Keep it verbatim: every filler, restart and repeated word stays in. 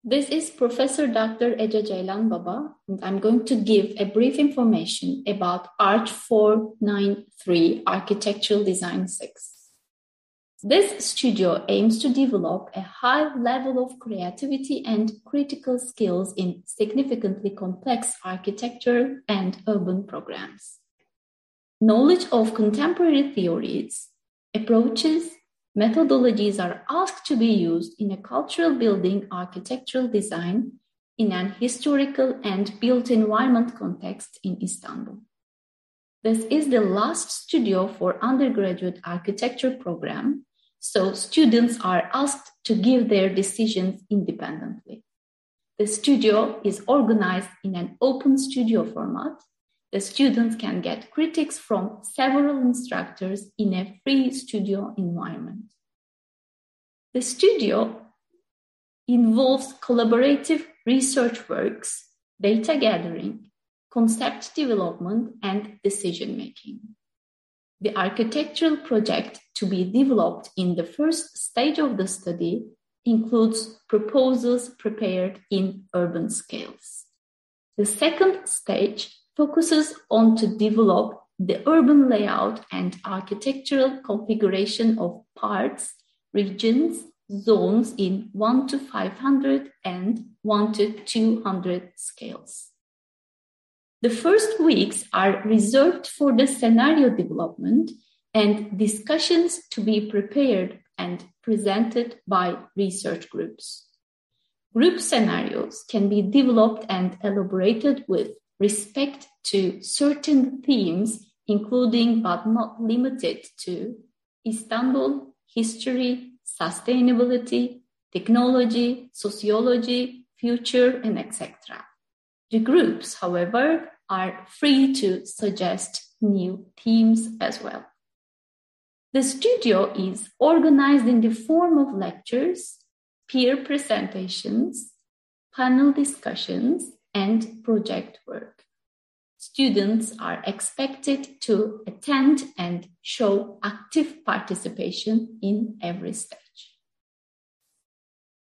This is Professor Doctor Ece Ceylan Baba, and I'm going to give a brief information about ARCH four ninety-three Architectural Design six. This studio aims to develop a high level of creativity and critical skills in significantly complex architectural and urban programs. Knowledge of contemporary theories, approaches, methodologies are asked to be used in a cultural building architectural design in an historical and built environment context in Istanbul. This is the last studio for undergraduate architecture program, so students are asked to give their decisions independently. The studio is organized in an open studio format. The students can get critiques from several instructors in a free studio environment. The studio involves collaborative research works, data gathering, concept development, and decision-making. The architectural project to be developed in the first stage of the study includes proposals prepared in urban scales. The second stage focuses on to develop the urban layout and architectural configuration of parts, regions, zones in one to five hundred and one to two hundred scales. The first weeks are reserved for the scenario development and discussions to be prepared and presented by research groups. Group scenarios can be developed and elaborated with respect to certain themes, including but not limited to Istanbul, history, sustainability, technology, sociology, future, and et cetera. The groups, however, are free to suggest new themes as well. The studio is organized in the form of lectures, peer presentations, panel discussions, and project work. Students are expected to attend and show active participation in every stage.